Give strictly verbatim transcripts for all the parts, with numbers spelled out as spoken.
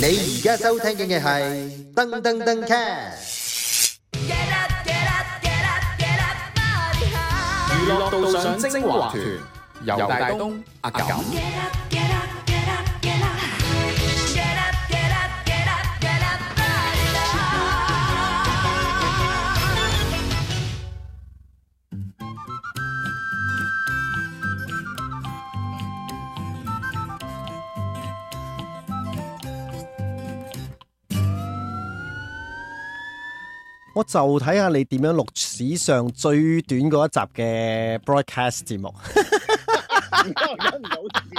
而家收聽嘅係噔噔噔 cast。 娛樂道上精華團，游大東、阿感。 我就睇下你點樣錄史上最短嗰一集嘅 broadcast 節目。 忍唔到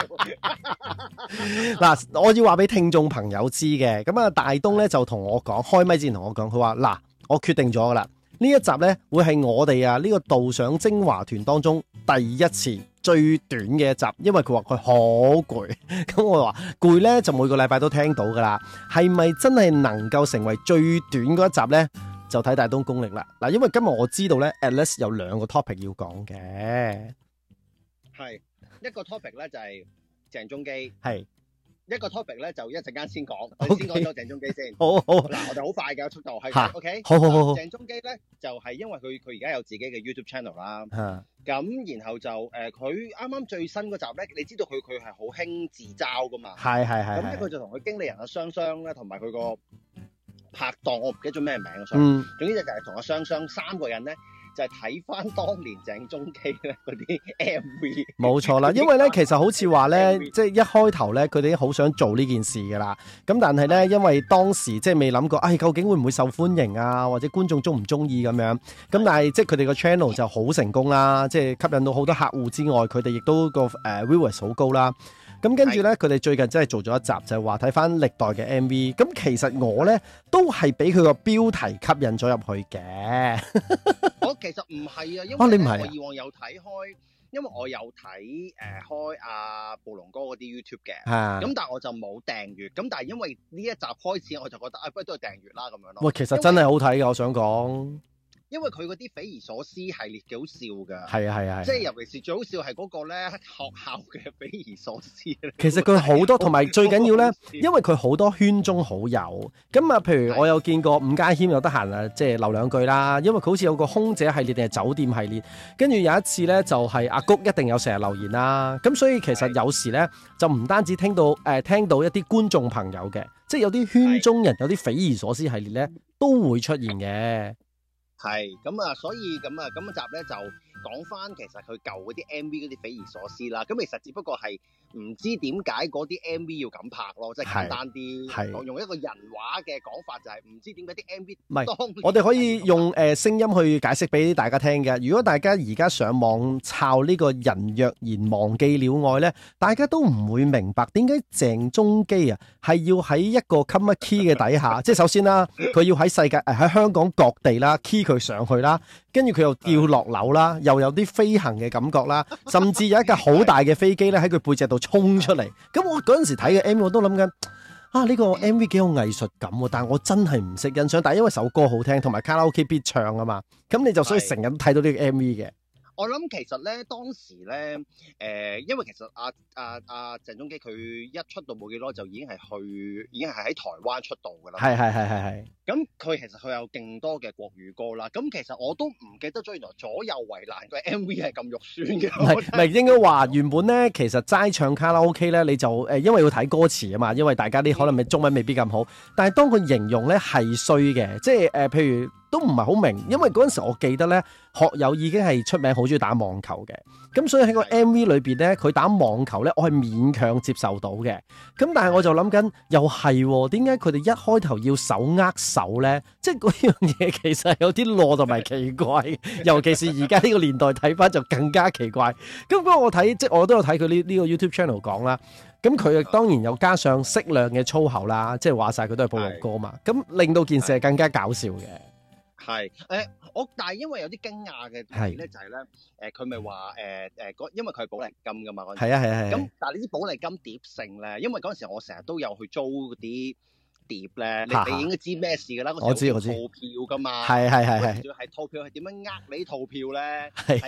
笑。 嗱，我要話俾聽眾朋友知嘅，咁啊大東咧就同我講，開咪之前同我講，佢話嗱，我決定咗噶啦，呢一集咧會係我哋啊呢個導賞精華團當中第一次最短嘅一集，因為佢話佢好攰，咁我話攰咧就每個禮拜都聽到噶啦，係咪真係能夠成為最短嗰一集咧？就睇大東功力啦。嗱，因為今日我知道咧 at least 有兩個 topic 要講嘅， 係一個 topic 咧就係鄭中基， 係一個 topic 咧就一陣間先講，我 Okay. 先講咗鄭中基先。 好好嗱，我哋好快嘅速度係嚇 ，OK， 好好好好。 鄭中基咧就係因為佢佢而家有自己嘅 YouTube channel 啦， 嚇咁然後就誒佢啱啱最新嗰集咧，你知道佢佢係好興自嘲噶嘛， 係係係咁咧佢就同佢經理人阿雙雙咧，同埋佢個拍檔，我唔記得咗咩名啊， 嗯， 總之就係同阿雙雙三個人咧，就係睇翻當年鄭中基咧嗰啲 M V。 冇錯啦，因為咧其實好似話咧，即係一開頭咧，佢哋好想做呢件事噶啦。咁但係咧，因為當時即係未諗過，唉、哎，究竟會唔會受歡迎啊，或者觀眾中唔中意咁樣。咁但係即係佢哋個 channel 就好成功啦，即係吸引到好多客戶之外，佢哋亦都個誒 viewers 好高啦。咁跟住咧，佢哋最近真係做咗一集，就係話睇翻歷代嘅 M V。咁其實我咧都係俾佢個標題吸引咗入去嘅。 我其實唔係啊，因為、 啊、你唔係啊、 我以往有睇開，因為我有睇誒、呃、開阿、啊、暴龍哥嗰啲 YouTube 嘅，咁、 啊、 但係我就冇訂閱。咁但係因為呢一集開始，我就覺得啊，不如都係訂閱啦咁樣咯。 喂，其實真係好睇嘅，我想講。 因為佢嗰啲匪夷所思系列幾好笑㗎， 係啊係啊， 即係尤其是最好笑係嗰個咧學校嘅匪夷所思。 其實佢好多，同埋最緊要咧，因為佢好多圈中好友。咁啊，譬如我有見過伍家謙有得閒啊，即係留兩句啦。因為佢好似有個空姐系列定係酒店系列，跟住有一次咧就係阿谷一定有成日留言啦。咁所以其實有時咧就唔單止聽到誒、呃、聽到一啲觀眾朋友嘅，即係有啲圈中人有啲匪夷所思系列咧都會出現嘅。 係咁啊，所以咁啊，今集咧就講翻其實佢舊嗰啲 M V 嗰啲匪夷所思啦。咁其實只不過係唔知點解嗰啲 M V 要咁拍咯，即係簡單啲講，用一個人話嘅講法就係唔知點解啲 M V 唔係，我哋可以用誒聲音去解釋俾大家聽嘅。如果大家而家上網抄呢個人若然忘記了愛咧，大家都唔會明白點解鄭中基啊係要喺一個 comma key 嘅底下，即係首先啦，佢要喺世界誒喺香港各地啦 key 佢上去啦，跟住佢又掉落樓啦，又有啲飛行嘅感覺啦，甚至有一架好大嘅飛機咧喺佢背脊度衝出嚟。咁我嗰陣時睇嘅 M V 我都諗緊啊，呢個 M V 幾有藝術感喎，但係我真係唔識欣賞。但係因為首歌好聽，同埋卡拉 OK 必唱啊嘛，咁你就所以成日都睇到呢個 M V 嘅。 我諗其實咧，當時咧，誒、呃，因為其實阿阿阿鄭中基佢一出道冇幾耐就已經係去，已經係喺台灣出道㗎啦。 係係係係係。咁佢其實佢有勁多嘅國語歌啦。咁其實我都唔記得咗，原來左右為難個 M V 係咁肉酸嘅。唔係唔係，應該話原本咧，其實齋唱卡拉 OK 咧，你就誒、呃，因為要睇歌詞啊嘛，因為大家啲可能咪中文未必咁好。但係當佢形容咧係衰嘅，即係誒、呃，譬如。都唔係好明，因為嗰陣時我記得咧，學友已經係出名好中意打網球嘅，咁所以喺個 M V 裏邊咧，佢打網球咧，我係勉強接受到嘅。咁但係我就諗緊，又係點解佢哋一開頭要手握手咧？即係嗰樣嘢其實有啲囉同埋奇怪，尤其是而家呢個年代睇翻就更加奇怪。咁不過我睇即係我都有睇佢呢呢個 YouTube channel 講啦。咁佢當然又加上適量嘅粗口啦，即係話晒佢都係暴龍哥嘛，咁令到件事係更加搞笑嘅。 係，誒、呃，我但係因為有啲驚訝嘅係咧，就係咧，誒，佢咪話誒誒，因為佢係寶麗金噶嘛， 係啊係啊係。咁但係呢啲寶麗金碟性咧，因為嗰陣時我成日都有去租嗰啲碟咧，你你應該知咩事噶啦？ 我知我知。 套票噶嘛， 係係係係。 仲要係套票係點樣呃你啲套票咧？係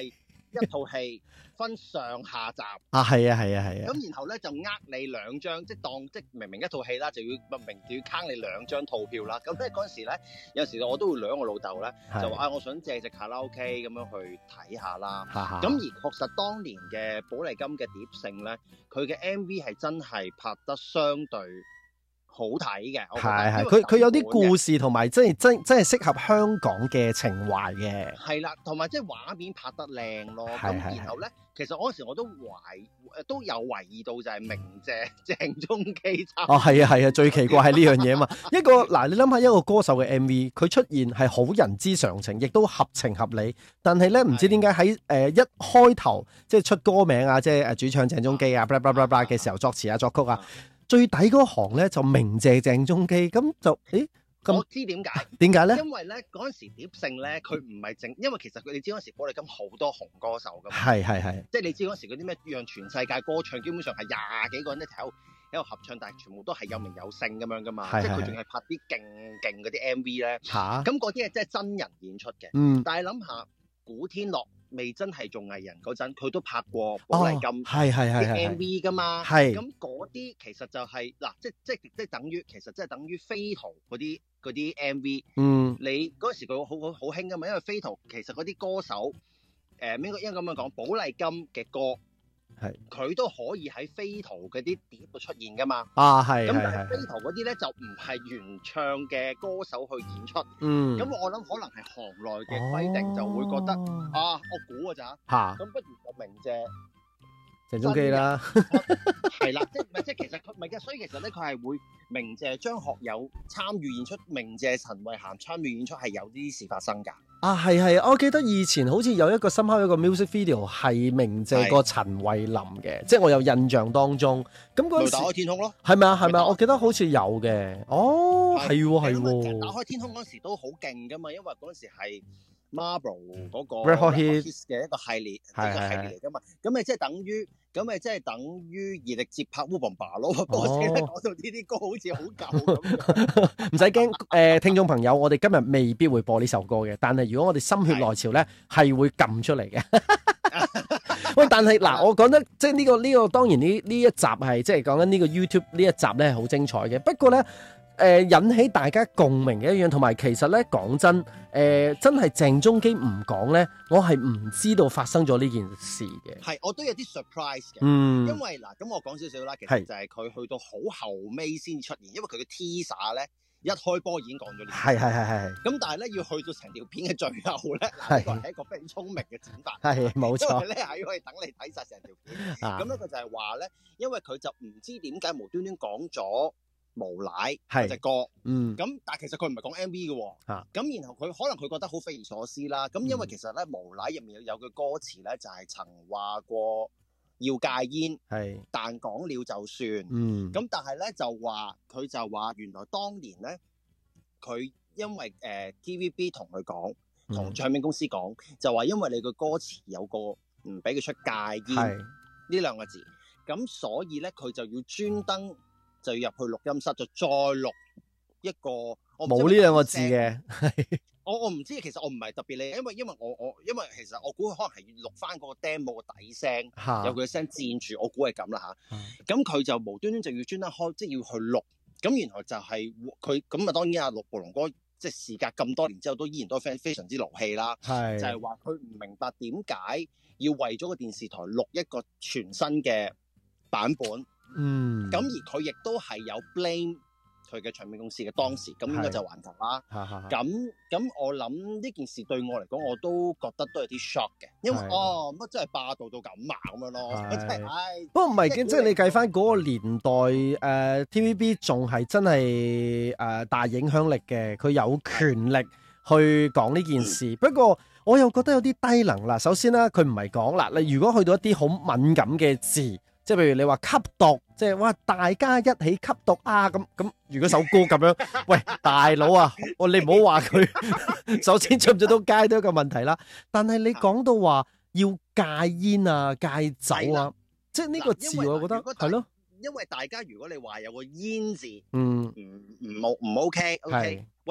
一套戲分上下集啊，係啊係啊係啊。 咁然後咧就呃你兩張，即係當即明明一套戲啦，就要明明就要坑你兩張套票啦。咁咧嗰陣時咧，有時我都會兩個老豆咧，就話啊，我想借隻卡拉 OK 咁樣去睇下啦。咁而確實當年嘅寶麗金嘅碟聖咧，佢嘅 M V 係真係拍得相對好睇嘅， 係係，佢佢有啲故事同埋，即係真真係適合香港嘅情懷嘅。係啦，同埋即係畫面拍得靚咯。咁然後咧，其實嗰時我都懷都有懷疑到就係鳴謝鄭中基參。哦， 係啊係啊，最奇怪係呢樣嘢啊嘛。一個嗱，你諗下一個歌手嘅 M V，佢出現係好人之常情，亦都合情合理。但係咧，唔知點解喺誒一開頭即係出歌名啊，即係誒主唱鄭中基啊，blah blah blah blah 嘅時候作詞啊作曲啊。最底嗰行咧就鳴謝鄭中基，咁就誒， 我知點解？ 點解咧？ 因為咧嗰陣時碟聖咧，佢唔係淨，因為其實佢哋知嗰陣時寶麗金好多紅歌手噶嘛， 係係係， 即係你知嗰陣時嗰啲咩讓全世界歌唱，基本上係廿幾個人一齊喺度合唱，但係全部都係有名有姓咁樣噶嘛，即係佢仲係拍啲勁勁嗰啲 M V 咧，嚇，咁嗰啲係真係真人演出嘅，嗯，但係諗下古天樂未真係做藝人嗰陣，佢都拍過寶麗金係係係啲 M V 噶嘛， 係咁嗰啲其實就係、是、嗱，即即即等於其實即係等於飛圖嗰啲嗰啲 M V，嗯，你嗰時佢好好好興噶嘛，因為飛圖其實嗰啲歌手誒應該應該咁樣講，寶麗金嘅歌係佢都可以喺飛圖嗰啲碟度出現噶嘛，啊係，咁但係飛圖嗰啲咧就唔係原唱嘅歌手去演出，嗯，咁我諗可能係行內嘅規定、哦、就會覺得啊，我估㗎咋嚇，咁不如就鳴謝鄭中基啦， 係啦，即係唔係即係其實佢唔係嘅，所以其實咧佢係會鳴謝張學友參與演出，鳴謝陳慧嫻參與演出係有啲事發生㗎。 啊係係，我記得以前好似有一個深刻一個 music video 係鳴謝過陳慧琳嘅，即係我有印象當中。咁嗰陣時打開天空咯，係咪啊係咪啊？我記得好似有嘅。哦，係喎係喎。 打開天空嗰時都好勁㗎嘛，因為嗰陣時係 Marlboro 嗰個 Red Hot Hits 嘅一個系列，一個系列嚟㗎嘛。咁咪即係等於。咁咪即係等於熱力接拍 Wubamba 咯，不過先講到呢啲歌好似好舊咁。 唔使驚，誒、呃、聽眾朋友，我哋今日未必會播呢首歌嘅，但係如果我哋心血來潮咧，係會撳出嚟嘅。喂，但係嗱，我覺得即係呢個呢、呢個當然呢呢一集係即係講緊呢個 YouTube 呢一集咧係好精彩嘅，不過咧。誒、呃、引起大家共鳴嘅一樣，同埋其實咧講真，誒、呃、真係鄭中基唔講咧，我係唔知道發生咗呢件事嘅。 係，我都有啲 surprise 嘅。 嗯， 因為嗱，咁我講少少啦，其實就係佢去到好後尾先出現，因為佢嘅 teaser 咧一開波已經講咗呢。係係係係。咁但係咧要去到成條片嘅最後咧，呢個係一個非常聰明嘅剪法。係冇錯。因為咧係可以等你睇晒成條片。咁咧佢就係話咧，因為佢就唔知點解無端端講咗無賴嗰隻歌，嗯，咁但係其實佢唔係講 M V 嘅，咁、啊、然後佢可能佢覺得好匪夷所思啦，咁因為其實咧、嗯、無賴入面有句歌詞咧就係、是、曾話過要戒煙，係，但講了就算，嗯，咁但係咧就話佢就話原來當年咧佢因為誒、呃、T V B 同佢講，同唱片公司講、嗯，就話因為你個歌詞有個唔俾佢出戒煙呢兩個字，咁所以咧佢就要專登。就要入去錄音室，就再錄一個冇呢兩個字嘅。 我我唔知，其實我唔係特別理，因為因為我我因為其實我估佢可能係要錄翻嗰個 demo 個底聲，有佢嘅聲佔住，我估係咁啦吓。咁佢就無端端就要專登開，即係要去錄。咁然後就係佢咁啊，當然阿陸暴龍哥即係事隔咁多年之後，都依然都非非常之勞氣啦。係就係話佢唔明白點解要為咗個電視台錄一個全新嘅版本。嗯，咁而佢亦都係有 blame 佢嘅唱片公司嘅當時，咁應該就環球啦。咁咁我諗呢件事對我嚟講，我都覺得都有啲 shock 嘅，因為哦乜真係霸道到咁啊咁樣咯，真係唉。不過唔係嘅，即係你計翻嗰個年代，誒、呃、T V B 仲係真係誒、呃、大影響力嘅，佢有權力去講呢件事。不過我又覺得有啲低能啦。首先啦，佢唔係講啦，你如果去到一啲好敏感嘅字。即係譬如你話吸毒，即係哇大家一起吸毒啊咁咁。如果首歌咁樣，喂大佬啊，我你唔好話佢，首先出唔出到街都係一個問題啦。但係你講到話要戒煙啊、戒酒啊，即係呢個字，我覺得係咯。因為大家如果你話有個煙字，嗯，唔唔冇唔 OK，OK，喂。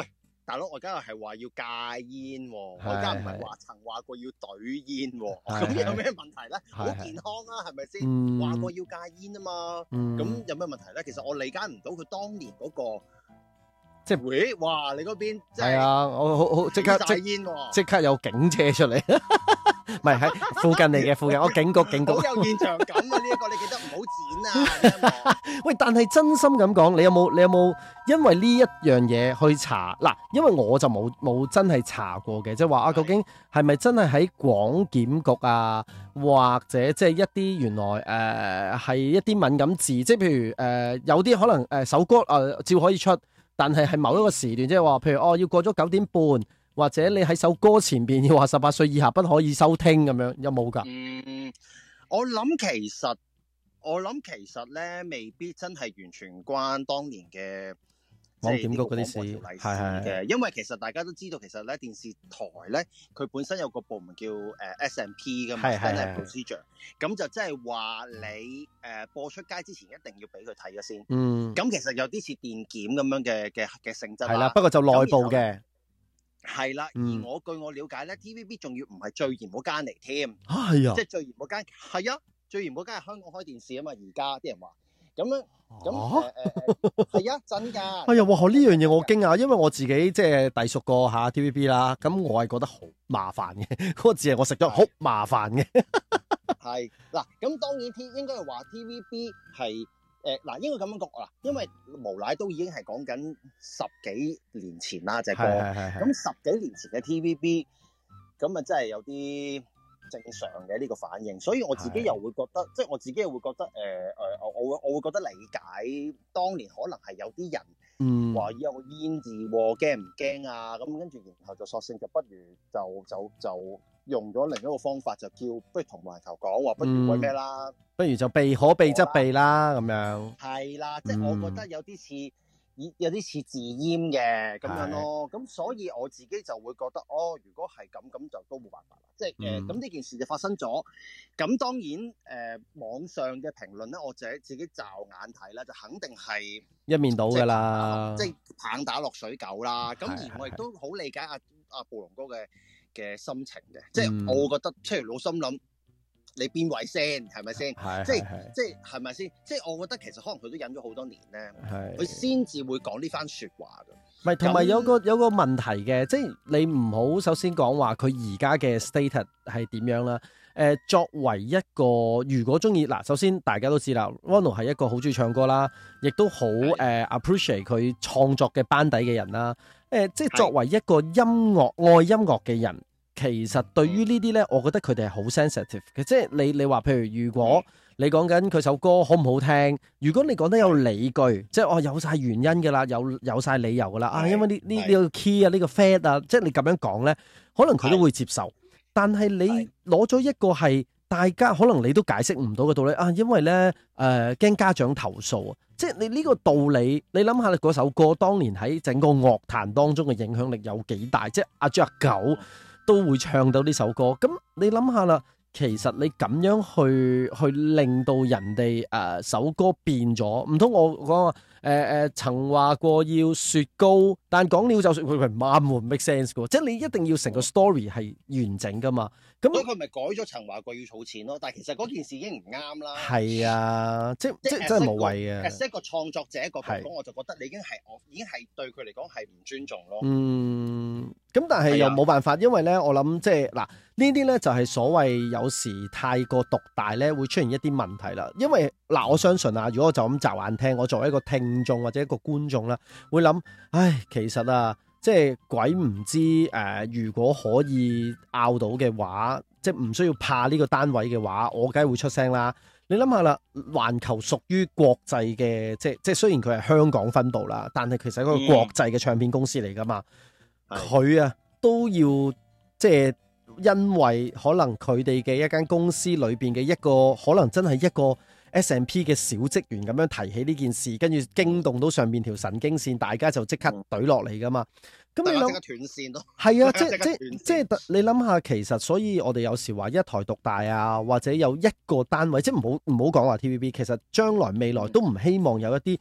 大佬，我而家係話要戒煙，我而家唔係話曾話過要懟煙，咁有咩問題咧？好健康啊，係咪先？話過要戒煙啊嘛，咁有咩問題咧？其實我理解唔到佢當年嗰個。即係會，哇！你嗰邊係啊，我好好即刻即即刻有警車出嚟，唔係喺附近嚟嘅附近，我警局警局。好有現場感啊！呢一個你記得唔好剪啊！ 喂，但係真心咁講，你有冇你有冇因為呢一樣嘢去查嗱？因為我就冇冇真係查過嘅，即係話啊，究竟係咪真係喺廣檢局啊，或者即係一啲原來誒係、呃、一啲敏感字，即係譬如誒、呃、有啲可能誒首歌誒照可以出。但係係某一個時段，即係話，譬如哦，要過咗九點半，或者你喺首歌前邊要話十八歲以下不可以收聽咁樣，有冇㗎？嗯， 我諗其實，我諗其實咧，未必真係完全關當年嘅廣檢局嗰啲事， 係係嘅。因為其實大家都知道，其實咧電視台咧，佢本身有個部門叫誒 S M P 㗎嘛，Standard Procedure。咁就即係話你誒播出街之前一定要俾佢睇咗先。嗯。咁其實有啲似電檢咁樣嘅嘅嘅性質。 係啦，不過就內部嘅。 係啦，而我據我了解咧 ，T V B 仲要唔係最嚴嗰間嚟添。 啊，係啊。 即係最嚴嗰間，係啊，最嚴嗰間係香港開電視啊嘛，而家啲人話。咁樣咁誒誒係啊，真㗎！ 哎呀，哇！呢樣嘢我驚訝，因為我自己即係隸屬過下 T V B 啦，咁我係覺得好麻煩嘅，嗰個字係我食咗好麻煩嘅。 係嗱，咁當然 T 應該係話 T V B 係誒嗱，應該咁樣講啦，因為無賴都已經係講緊十幾年前啦，隻歌。咁十幾年前嘅 T V B，咁啊真係有啲正常嘅呢個反應，所以我自己又會覺得，即係我自己又會覺得，誒、呃、誒，我我會我會覺得理解當年可能係有啲人話有個煙字驚唔驚啊？咁跟住然後就索性就不如就就就用咗另一個方法，就叫不如同埋頭講話，不如為咩啦？不如就避可避則避啦，咁樣。係啦，即係我覺得有啲似。有啲似自閹嘅咁樣咯，咁所以我自己就會覺得，哦，如果係咁，咁就都冇辦法啦。即係誒，咁、呃、呢件事就發生咗。咁當然誒、呃，網上嘅評論咧，我自己自己驟眼睇啦，就肯定係一面倒㗎啦，即係棒打落水狗啦。咁而我亦都好理解阿阿暴龍哥嘅嘅心情嘅，即係我會覺得，即係老心諗。你邊位先係咪先？係即係即係係咪先？即係我覺得其實可能佢都忍咗好多年咧，佢先至會講呢番説話㗎。唔係同埋有個有個問題嘅，即係你唔好首先講話佢而家嘅 status 係點樣啦。誒、呃，作為一個如果中意嗱，首先大家都知啦，Ronald 係一個好中意唱歌啦，亦都好誒、呃、appreciate 佢創作嘅班底嘅人啦。誒、呃，即係作為一個音樂愛音樂嘅人。其實對於呢啲呢，我覺得佢哋係好 sensitive 嘅，即係你你話譬如如果你講緊佢首歌好唔好聽，如果你講得有理據，即係我有晒原因㗎啦，有有曬理由㗎啦，啊，因為呢呢呢個 key 啊，呢個 fat 啊，即係你咁樣講呢，可能佢都會接受。但係你攞咗一個係大家可能你都解釋唔到嘅道理啊，因為呢誒驚家長投訴啊，即係你呢個道理，你諗下你嗰首歌當年喺整個樂壇當中嘅影響力有幾大，即係阿豬阿狗都會唱到呢首歌，咁你諗下啦，其實你咁樣去去令到人哋誒、呃、首歌變咗，唔通我講話誒誒曾話過要雪糕，但講了就雪，佢佢唔啱喎 make sense 嘅，即係你一定要成個 story 係完整噶嘛。咁所以佢咪改咗曾話過要儲錢咯，但係其實嗰件事已經唔啱啦。係啊，即即即真係無謂嘅。as 一個創作者一個角度，我就覺得你已經係我已經係對佢嚟講係唔尊重咯。嗯，咁但係又冇辦法，因為咧我諗即係嗱呢啲咧就係所謂有時太過獨大咧會出現一啲問題啦。因為嗱我相信啊，如果我就咁驟眼聽，我作為一個聽眾或者一個觀眾啦，會諗，唉，其實啊。即係鬼唔知誒、呃，如果可以拗到嘅話，即係唔需要怕呢個單位嘅話，我梗係會出聲啦。你諗下啦，環球屬於國際嘅，即係即係雖然佢係香港分部啦，但係其實係一個國際嘅唱片公司嚟噶嘛。佢、嗯、啊都要即係因為可能佢哋嘅一間公司裏邊嘅一個可能真係一個 S M P 嘅小職員咁樣提起呢件事，跟住驚動到上面條神經線，大家就即刻懟落嚟噶嘛。咁、嗯、你諗，即刻斷線咯。係啊，即即即係你諗下，其實所以我哋有時話一台獨大啊，或者有一個單位，即係唔好唔好講話 T V B。其實將來未來都唔希望有一啲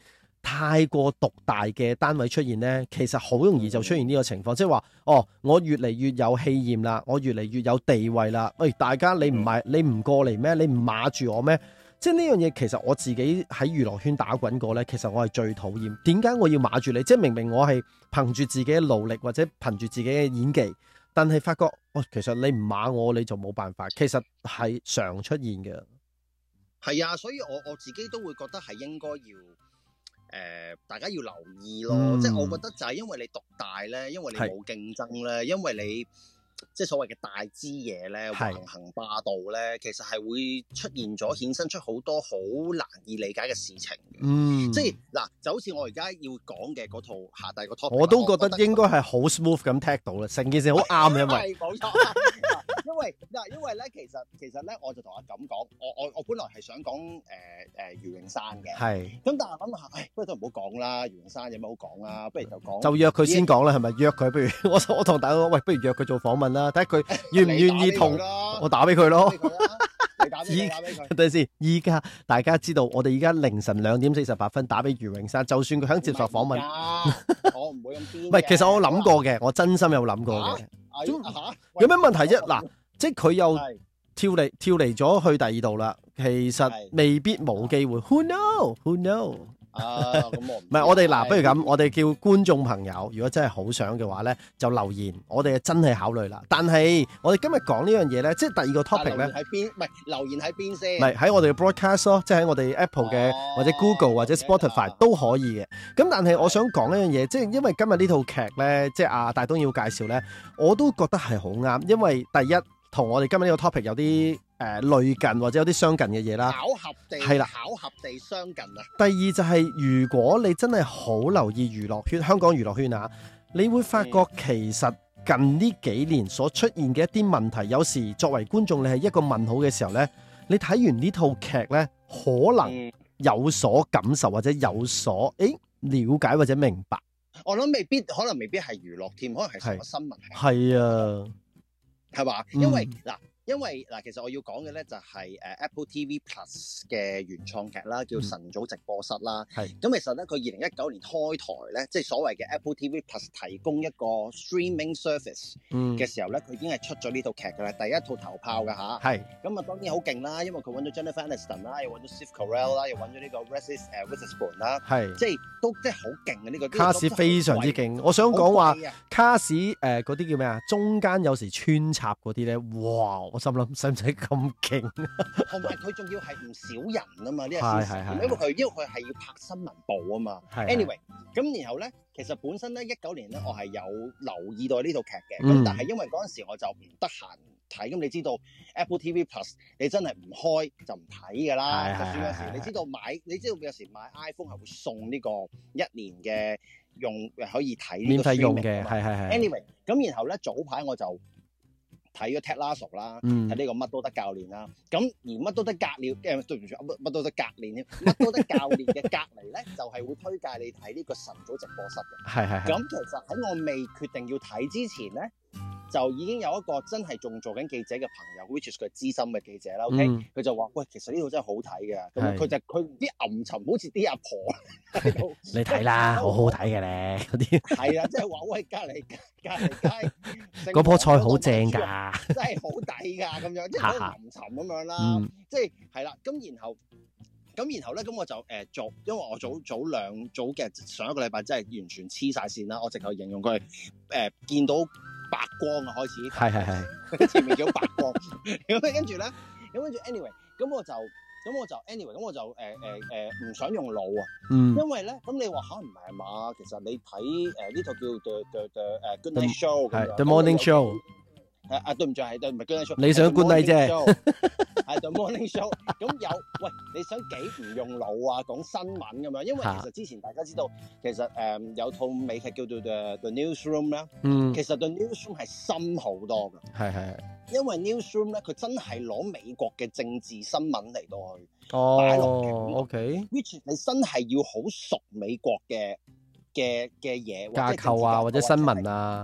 太過獨大嘅單位出現咧，其實好容易就出現呢個情況，即係話哦，我越嚟越有氣焰啦，我越嚟越有地位啦。喂、哎，大家你唔係你唔過嚟咩？你唔碼住我咩？即係呢樣嘢，其實我自己喺娛樂圈打滾過咧，其實我係最討厭。點解我要碼住你？即係明明我係憑住自己嘅努力或者憑住自己嘅演技，但係發覺哦，其實你唔碼我，你就冇辦法。其實係常出現嘅。 係啊，所以我我自己都會覺得係應該要誒、呃，大家要留意咯。嗯、即係我覺得就係因為你獨大咧，因為你冇競爭咧，是因為你即係所謂嘅大支嘢咧，橫行霸道咧，其實係會出現咗，衍生出好多好難以理解嘅事情。嗯，即係嗱，就好似我而家要講嘅嗰套下第個 topic，我都覺得應該係好 smooth 咁踢到啦，成件事好啱嘅，因為冇錯。因為嗱，因為咧，其實其實咧，我就同阿錦講，我我我本來係想講誒誒余詠珊嘅，係是。咁但係諗下，唉，不如都唔好講啦，余詠珊有乜好講啦？不如就講，就約佢先講啦，係咪約佢？不如我我同大家講，喂，不如約佢做訪問啦，睇下佢願唔願意同我打俾佢咯。你打俾佢，打俾佢。等陣先，依家大家知道，我哋依家凌晨兩點四十八分打俾余詠珊，就算佢肯接受訪問， 我唔會咁癲。 唔係，其實我諗過嘅，我真心有諗過嘅。有咩問題啫？嗱。即係佢又跳離跳離咗去第二度啦，其實未必冇機會。Who know? Who know? 啊，咁我唔係我哋嗱，不如咁，我哋叫觀眾朋友，如果真係好想嘅話咧，就留言，我哋真係考慮啦。但係我哋今日講呢樣嘢咧，即係第二個 topic 咧， 喺邊？唔係留言喺邊先？ 唔係喺我哋嘅 broadcast 咯，即係喺我哋 Apple 嘅、哦、或者 Google 或者 Spotify 都可以嘅。咁但係我想講一樣嘢，即係因為今日呢套劇咧，即係阿大東要介紹咧，我都覺得係好啱，因為第一。同我哋今日呢個 topic 有啲誒、呃、類近或者有啲相近嘅嘢啦， 巧合地係啦，巧合地相近啊。 第二就係、是、如果你真係好留意娛樂圈，香港娛樂圈啊，你會發覺其實近呢幾年所出現嘅一啲問題，有時作為觀眾你係一個問號嘅時候呢，你睇完呢套劇呢，可能有所感受或者有所誒了解或者明白。 我諗未必，可能未必係娛樂添，可能係成個新聞係啊。 係嘛？因為嗱、嗯，因為嗱，其實我要講嘅咧就係誒 Apple T V Plus 嘅原創劇啦，叫晨早直播室啦。係、嗯。咁其實咧，佢二零一九年開台咧，即係所謂嘅 Apple T V Plus 提供一個 streaming service 嘅時候咧，佢、嗯、已經係出咗呢套劇㗎啦，第一套頭炮㗎吓。係。咁啊，當然好勁啦，因為佢揾咗 Jennifer Aniston 啦，又揾咗 Steve Carell 啦，又揾咗呢個 Reese 誒 Witherspoon 啦。係。即係都即係好勁嘅呢個。卡士非常之勁，我想講話卡士誒嗰啲叫咩啊？中間有時穿插嗰啲咧，哇！我心諗使唔使咁勁？ 同埋佢仲要係唔少人啊嘛，呢個事實，因為佢因為佢係要拍新聞部啊嘛。Anyway，咁然後咧，其實本身咧一九年咧，我係有留意到呢套劇嘅，咁、嗯、但係因為嗰陣時我就唔得閒睇，咁你知道 Apple T V Plus 你真係唔開就唔睇㗎啦。就算有時你知道買，你知道有時買 iPhone 係會送呢個一年嘅用可以睇免費用嘅，係係係。 Anyway，咁然後咧早排我就睇咗 Ted Lasso 啦，睇呢個乜都得教練啦。咁而乜都得隔離嘅，對唔住，乜乜都得隔練添，乜都得教練嘅隔離咧，就係會推介你睇呢個晨早直播室嘅。係係係。咁其實喺我未決定要睇之前咧，就已經有一個真係仲做緊記者嘅朋友 ，which is 佢資深嘅記者啦。OK，佢、嗯、就話：喂，其實呢套真係好睇嘅。咁佢就佢啲暗沉，好似啲阿婆喺度。你睇啦，好好睇嘅咧，嗰啲。係啊，即係話喂，隔離隔離街嗰棵菜好正㗎， 真係好抵㗎，咁樣即係好暗沉咁樣啦。即係係啦，咁然後咁然後咧，咁我就誒、呃、做，因為我早早兩早嘅上一個禮拜真係完全黐晒線啦，我直頭形容佢誒、呃、見到白光啊，開始係係係前面叫白光，咁跟住咧，咁跟住 anyway，咁我就咁我就 anyway，咁我就誒誒誒唔想用腦啊，嗯，因為咧，咁你話嚇唔係嘛？其實你睇誒呢套叫 The The The 誒 Good Night Show 咁樣 The Morning Show， 誒啊對唔住係對唔係 Good Night Show， 你想 Good Night 啫， 係 The Morning Show，咁有喂你想幾唔用腦啊？講新聞咁樣，因為其實之前大家知道，其實誒有套美劇叫做 The The Newsroom 啦，嗯，其實 The Newsroom 係深好多㗎，係係。因為 newsroom 咧，佢真係攞美國嘅政治新聞嚟到去擺落劇，O K，which 你真係要好熟美國嘅嘅嘅嘢架構啊，或者新聞啊，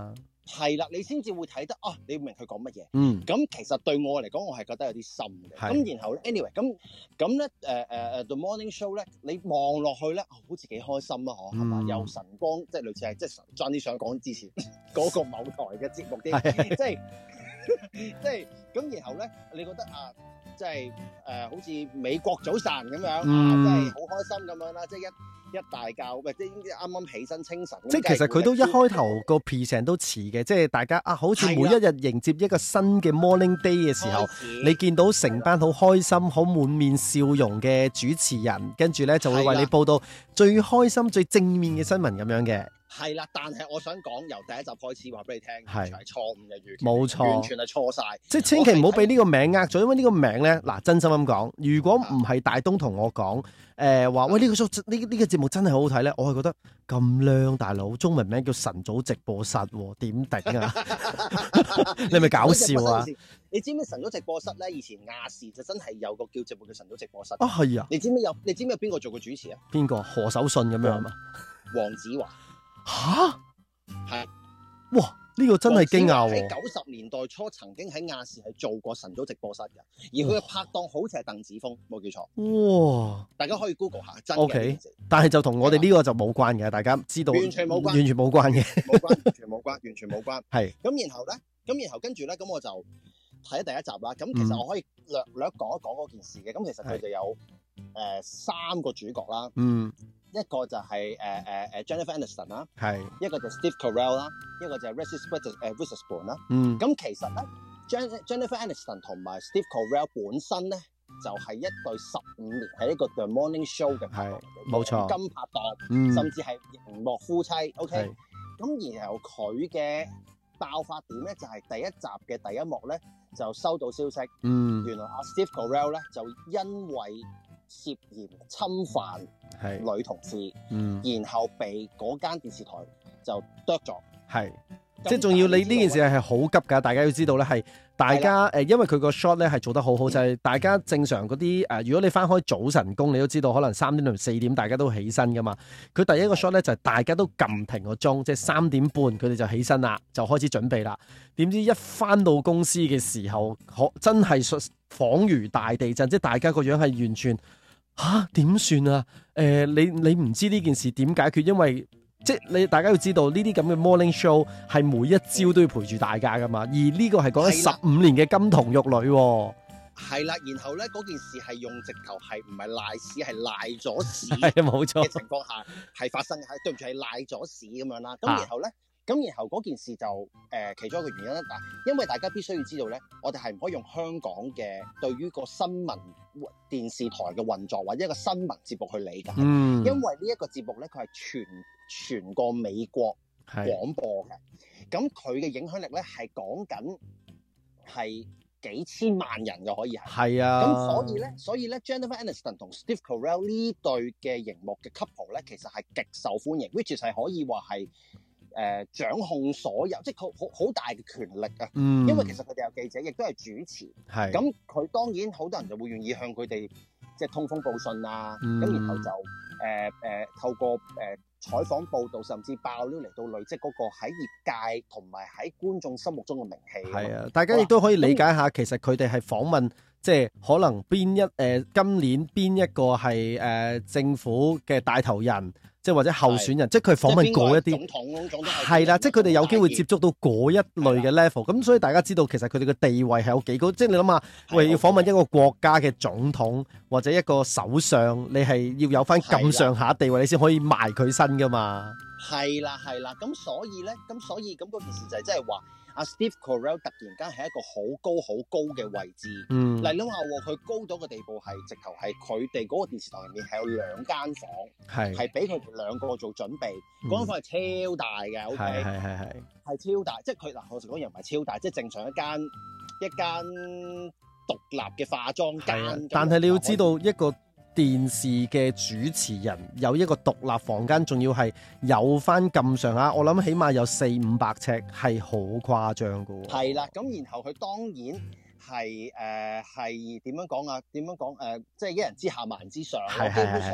係啦，你先至會睇得啊，你明佢講乜嘢。 嗯。 咁其實對我嚟講，我係覺得有啲深嘅。咁然後 anyway，咁咁咧誒誒誒 The Morning Show 咧，你望落去咧，好似幾開心啊，嗬，係嘛？有晨光，即係類似係即係將啲想講之前嗰個某台嘅節目啲，即係即係咁。然後咧，你覺得啊，即係誒、呃、好似美國早晨咁樣、嗯、啊，即係好開心咁樣啦，即係一。一大覺，喂，即係啱啱起身清晨。即係其實佢都一開頭個 present 都似嘅，即係大家啊，好似每一日迎接一個新嘅 morning day 嘅時候，你見到成班好開心、好滿面笑容嘅主持人，跟住咧就會為你報道最開心、最正面嘅新聞咁樣嘅。係啦，但係我想講由第一集開始話俾你聽，完全係錯誤嘅預期，冇錯，完全係錯晒。即係千祈唔好俾呢個名呃咗，因為呢個名咧，嗱，真心咁講，如果唔係大東同我講，誒話喂呢個 show 呢呢個節目真係好好睇咧，我係覺得咁靚大佬，中文名叫晨早直播室，點頂啊？你係咪搞笑啊？你知唔知晨早直播室咧？以前亞視就真係有個叫節目叫晨早直播室啊，係啊！你知唔知有？你知唔知有邊個做過主持啊？邊個？何守信咁樣啊嘛？黃子華。吓，係，哇！呢、這個真係驚訝喎。喺九十年代初曾經喺亞視係做過晨早直播室嘅，而佢嘅拍檔好似係鄧梓峰，冇記錯。哇！大家可以 Google 下，真嘅。Okay, 但係就同我哋呢個就冇關嘅，大家知道。完全冇關，完全冇關嘅，冇關，完全冇關，完全冇關。係。咁然後咧，咁然後跟住咧，咁我就睇咗第一集啦。咁其實我可以略略講一講嗰件事嘅。咁其實佢就有誒、呃、三個主角啦。嗯。一個就係誒誒誒 Jennifer Aniston 啦，係一個就 Steve Carell 啦，一個就係 Reese Witherspoon 啦。嗯，咁其實咧 Jennifer Aniston 同埋 Steve Carell 本身咧就係、是、一對十五年喺一個 The Morning Show 嘅拍檔，冇錯，金拍檔，嗯、甚至係熒幕夫妻。OK，咁然後佢嘅爆發點咧就係、是、第一集嘅第一幕咧就收到消息，嗯，原來阿 Steve Carell 咧就因為涉嫌侵犯女同事，嗯，然後被嗰間電視台就剁咗，係，即係仲要你呢件事係好急㗎，大家要知道咧，係大家誒，因為佢個 shot 咧係做得好好，就係、是、大家正常嗰啲誒，如果你翻開早晨工，你都知道可能三點同四點大家都起身㗎嘛，佢第一個 shot 咧就係大家都撳停個鐘，即係三點半佢哋就起身啦，就開始準備啦，點知一翻到公司嘅時候，可真係恍如大地震，即係大家個樣係完全。吓點算啊？誒、呃，你你唔知呢件事點解決？因為即係你大家要知道呢啲咁嘅 morning show 係每一朝都要陪住大家噶嘛，而呢個係講緊十五年嘅金童玉女、啊。係啦，然後咧嗰件事係用直頭係唔係賴屎，係賴咗屎，係冇錯嘅情況下係發生，係對唔住係賴咗屎咁樣啦。咁然後咧。啊咁然後嗰件事就誒、呃、其中一個原因咧，嗱，因為大家必須要知道咧，我哋係唔可以用香港嘅對於個新聞電視台嘅運作或者一個新聞節目去理解，嗯、因為呢一個節目咧，佢係全全個美國廣播嘅，咁佢嘅影響力咧係講緊係幾千萬人嘅可以係，係啊，咁所以咧，所以咧 Jennifer Aniston 同 Steve Carell 呢對嘅熒幕嘅 couple 咧，其實係極受歡迎 ，which is 係可以話係。誒、呃、掌控所有，即係佢好好大嘅權力啊！嗯、因為其實佢哋有記者，亦都係主持。係咁，佢當然好多人就會願意向佢哋即係通風報信啊。咁、嗯、然後就誒誒、呃呃、透過誒、呃、採訪報導，甚至爆料嚟到累積嗰個喺業界同埋喺觀眾心目中嘅名氣。係啊，大家亦都可以理解下，其實佢哋係訪問，即係可能邊一誒、呃、今年邊一個係誒、呃、政府嘅帶頭人。即係或者候選人，即係佢訪問嗰一啲，係啦，即係佢哋有機會接觸到嗰一類嘅 level，咁所以大家知道其實佢哋嘅地位係有幾高。即係你諗下，喂，要訪問一個國家嘅總統或者一個首相，你係要有翻咁上下地位，你先可以埋佢身噶嘛。係啦，係啦，咁所以咧，咁所以咁嗰件事就係即係話。阿 Steve Carell 突然間喺一個好高好高嘅位置，嗯，嚟諗下喎，佢高到個地步係直頭係佢哋嗰個電視台入面係有兩間房，係係俾佢哋兩個做準備，嗰、嗯、間房係超大嘅，OK，係係係係係超大，即係佢嗱，我實講又唔係超大，即係正常一間一間獨立嘅化妝間，但係你要知道一個電視嘅主持人有一個獨立房間，仲要係有翻咁上下，我諗起碼有四五百尺，係好誇張噶。係啦，咁然後佢當然係誒係點樣講啊？點樣講誒？即係一人之下萬人之上。係係係。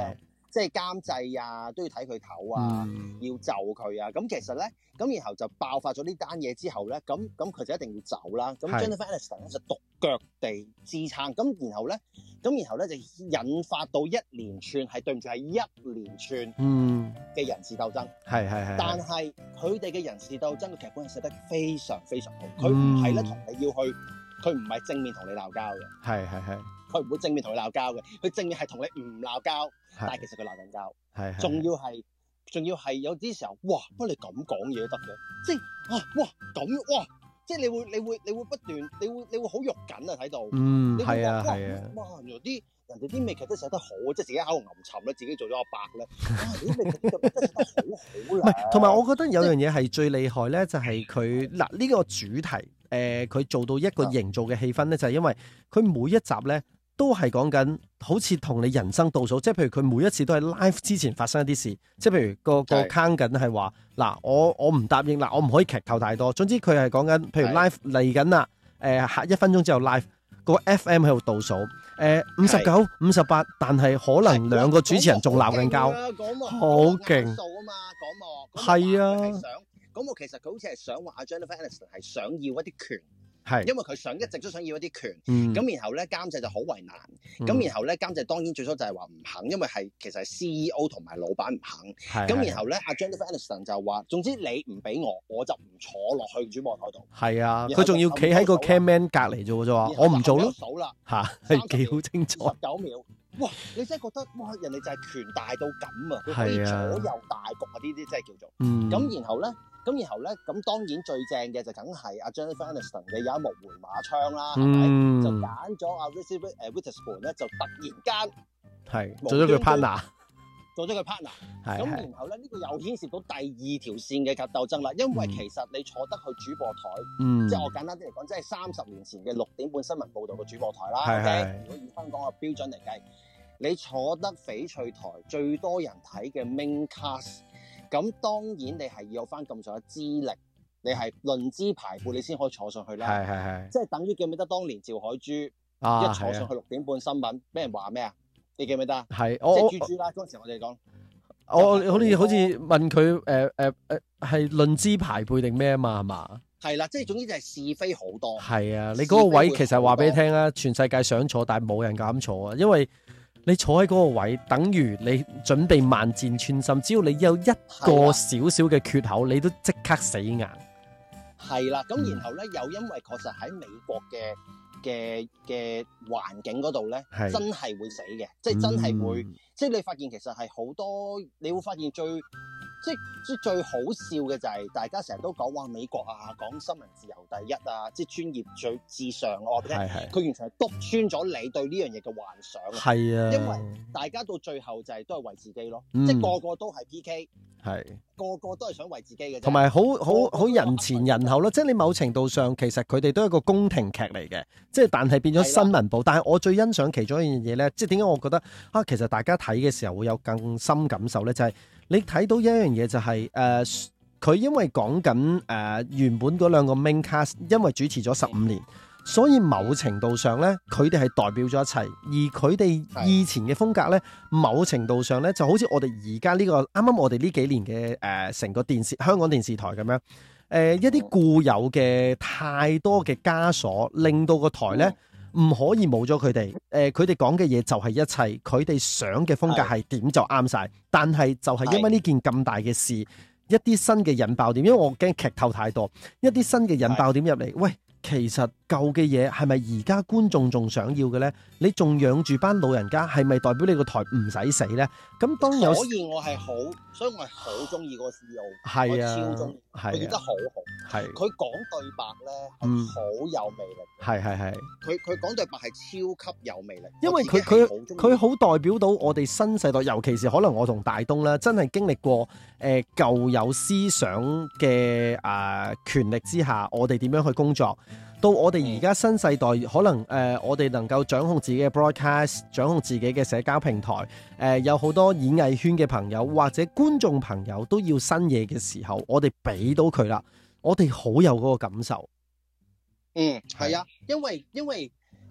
即係監製啊，都要睇佢頭啊，嗯、要就佢啊。咁其實咧，咁然後就爆發咗呢單嘢之後咧，咁咁佢就一定要走啦。咁 Jennifer Aniston 咧就獨腳地支撐。咁然後咧，咁然後咧就引發到一連串係對唔住係一連串嘅人事鬥爭。係係係。但係佢哋嘅人事鬥爭嘅劇本係寫得非常非常好。佢唔係咧同你要去，佢唔係正面同你鬧交嘅。係係係。佢唔會正面同你鬧交嘅，佢正面係同你唔鬧交，但係其實佢鬧緊交，係係，仲要係，仲要係有啲時候，哇！不過你咁講嘢都得嘅，即係啊，哇咁哇，即係你會你會你會不斷，你會你會好肉緊啊睇到，嗯，係啊係啊，哇！原來啲人哋啲美劇都寫得好，即係自己喺度吟沉咧，自己做咗阿伯咧，哇！啲美劇都寫得好好啦。唔係，同埋我覺得有樣嘢係最厲害咧，就係佢嗱呢個主題，誒佢做到一個營造嘅氣氛咧，就係因為佢每一集咧。都係講緊好似同你人生倒數，即係譬如佢每一次都係 live 之前發生一啲事，即係譬如個個 count 緊係話嗱，我我唔答應嗱，我唔可以劇透太多。總之佢係講緊，譬如 live 嚟緊啦，誒下一分鐘之後 live 個 F M 喺度倒數，誒五十九、五十八，但係可能兩個主持人仲鬧緊交，好勁數啊嘛，講幕係啊，講幕其實佢好似係想話阿 Jennifer Aniston 係想要一啲權。係，因為佢想一直都想要一啲權，咁、嗯、然後咧監製就好為難，咁、嗯、然後咧監製當然最初就係話唔肯，因為係其實係 C E O 同埋老闆唔肯，咁然後咧阿 Jennifer Aniston 就話，總之你唔俾我，我就唔坐落去主播台度。係啊，佢仲要企喺個 cameraman 隔離啫喎，我唔做咯。數啦嚇，係幾好清楚。十九秒，哇！你真係覺得哇，人哋就係權大到咁啊，佢可以左右大局啊，呢啲真係叫做。咁、嗯、然後咧。咁然後咧，咁當然最正嘅就梗係阿 Jennifer Aniston 嘅有一幕回馬槍啦，係咪、嗯？就揀咗阿 Reese Witherspoon 咧，就突然間係做咗佢 partner，做咗佢 partner。咁然後咧，呢、呢個又牽涉到第二條線嘅格鬥爭啦。因為其實你坐得去主播台，嗯、即係我簡單啲嚟講，即係三十年前嘅六點半新聞報導嘅主播台啦。Okay? 如果以香港嘅標準嚟計，你坐得翡翠台最多人睇嘅 main cast。咁當然你係要有翻咁上下資歷，你係論資排輩，你先可以坐上去啦。係係係，即係等於記唔記得當年趙海珠、啊、一坐上去六點半新聞，俾人話咩啊？你記唔記得啊？係，即係豬豬啦。嗰陣時我哋講，我好似好似問佢誒誒誒係論資排輩定咩啊嘛？係嘛？係啦，即係總之就係是非好多。係啊，你嗰個位其實話俾你聽啊，全世界想坐，但係冇人敢坐啊，因為。你坐喺嗰個位，等於你準備萬箭穿心。只要你有一個少少嘅缺口，你都即刻死硬。係啦，咁然後咧，又因為確實喺美國嘅嘅嘅環境嗰度咧，真係會死嘅，即係真係會，嗯、即係你發現其實係好多，你會發現最。即即最好笑嘅就係大家成日都講話美國啊，講新聞自由第一啊，即專業最至上我覺得佢完全係篤穿咗你對呢樣嘢嘅幻想。係啊，因為大家到最後就係都係為自己咯，嗯、即個個都係 P K， 係個個都係想為自己嘅，同埋好好好人前人後咯。即你某程度上其實佢哋都係一個宮廷劇嚟嘅，即但係變咗新聞部。但係我最欣賞其中一樣嘢咧，即點解我覺得啊，其實大家睇嘅時候會有更深感受咧，就係、是。你睇到一樣嘢就係、是、誒，佢、呃、因為講緊誒原本嗰兩個 main cast，因為主持咗十五年，所以某程度上咧，佢哋係代表咗一切。而佢哋以前嘅風格咧，某程度上咧，就好似我哋而家呢個啱啱我哋呢幾年嘅誒成個電視香港電視台咁樣，誒、呃、一啲固有嘅太多嘅枷鎖，令到個台咧。唔可以冇咗佢哋，誒佢哋講嘅嘢就係一切，佢哋想嘅風格係點就啱晒。但係就係因為呢件咁大嘅事，一啲新嘅引爆點，因為我驚劇透太多，一啲新嘅引爆點入嚟，喂。其實舊嘅嘢係咪而家觀眾仲想要嘅咧？你仲養住班老人家，係咪代表你個台唔使死咧？咁當有，所以我係好，所以我係好中意嗰個 C E O，係啊，超中意，佢演得好好，係佢講對白咧，係好有魅力，係係係，佢佢講對白係超級有魅力，因為佢佢佢好代表到我哋新世代，尤其是可能我同大東啦，真係經歷過誒、呃、舊有思想嘅啊、呃、權力之下，我哋點樣去工作。到我哋而家新世代，可能誒、呃，我哋能夠掌控自己嘅 broadcast， 掌控自己嘅社交平台，誒、呃，有好多演藝圈嘅朋友或者觀眾朋友都要新嘢嘅時候，我哋俾到佢啦，我哋好有嗰個感受。嗯，係啊，因為因為